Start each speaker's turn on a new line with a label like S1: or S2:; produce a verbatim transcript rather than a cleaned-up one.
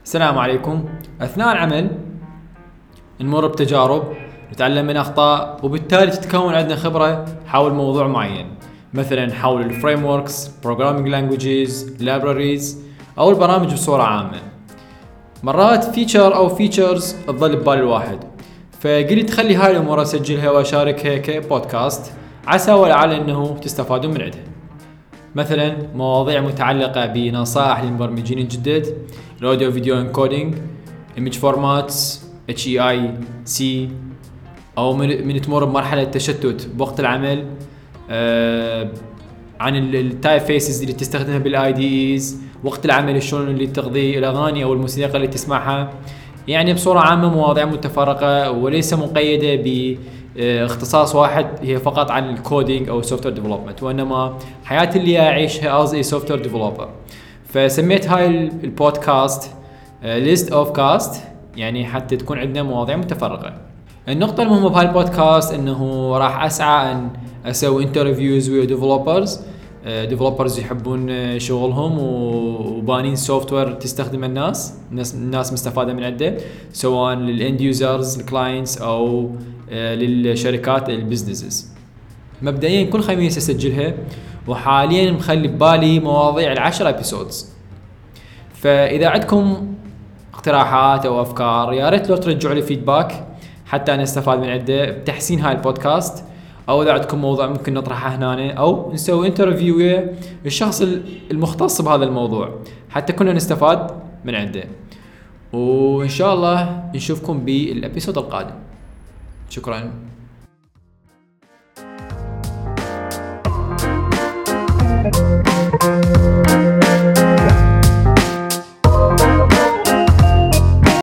S1: السلام عليكم. أثناء العمل نمر بتجارب، نتعلم من أخطاء، وبالتالي تتكون عندنا خبرة حول موضوع معين، مثلا حول الفريم وركس، programming languages، libraries أو البرامج بصورة عامة. مرات فيتشر أو فيتشرز تظل ببال الواحد، فقلت خلي هاي الأمور أسجلها وأشاركها كبودكاست عسى ولعل أنه تستفادون من عندها. مثلا مواضيع متعلقة بنصائح للمبرمجين الجدد، الأوديو فيديو انكودينج، image formats، إتش إي آي سي، أو من, من تمر بمرحلة تشتت بوقت العمل، آه عن التايب فيسز اللي تستخدمها بالاي دي ايز وقت العمل، شلون اللي تقضي الأغاني أو الموسيقى اللي تسمعها. يعني بصورة عامة مواضيع متفرقة وليس مقيدة باختصاص واحد هي فقط عن الكودينج أو سوفتوير ديفلوبمنت، وإنما حياتي اللي أعيشها as a software developer. فسميت هاي البودكاست list of cast، يعني حتى تكون عندنا مواضيع متفرقة. النقطة المهمة بهاي البودكاست إنه راح أسعى أن أسوي انترفيوز ويا ديفلوبرز ديفلوبرز يحبون شغلهم وبانين سوفتوير تستخدم الناس الناس مستفادة من عنده، سواء للاند يوزرز الكلاينتس أو للشركات البزنسز. مبدئيا كل خميس أسجلها، وحاليا مخلي ببالي مواضيع العشر ابيسودز. فإذا عندكم اقتراحات أو أفكار يا ريت لو ترجعوا لي فيدباك حتى أنا استفاد من عنده بتحسين هاي البودكاست، أو إذا عندكم موضوع ممكن نطرحه هنا أو نسوي انترفيو ويا الشخص المختص بهذا الموضوع حتى كنا نستفاد من عنده. وإن شاء الله نشوفكم بالأبيسود القادم. شكرا.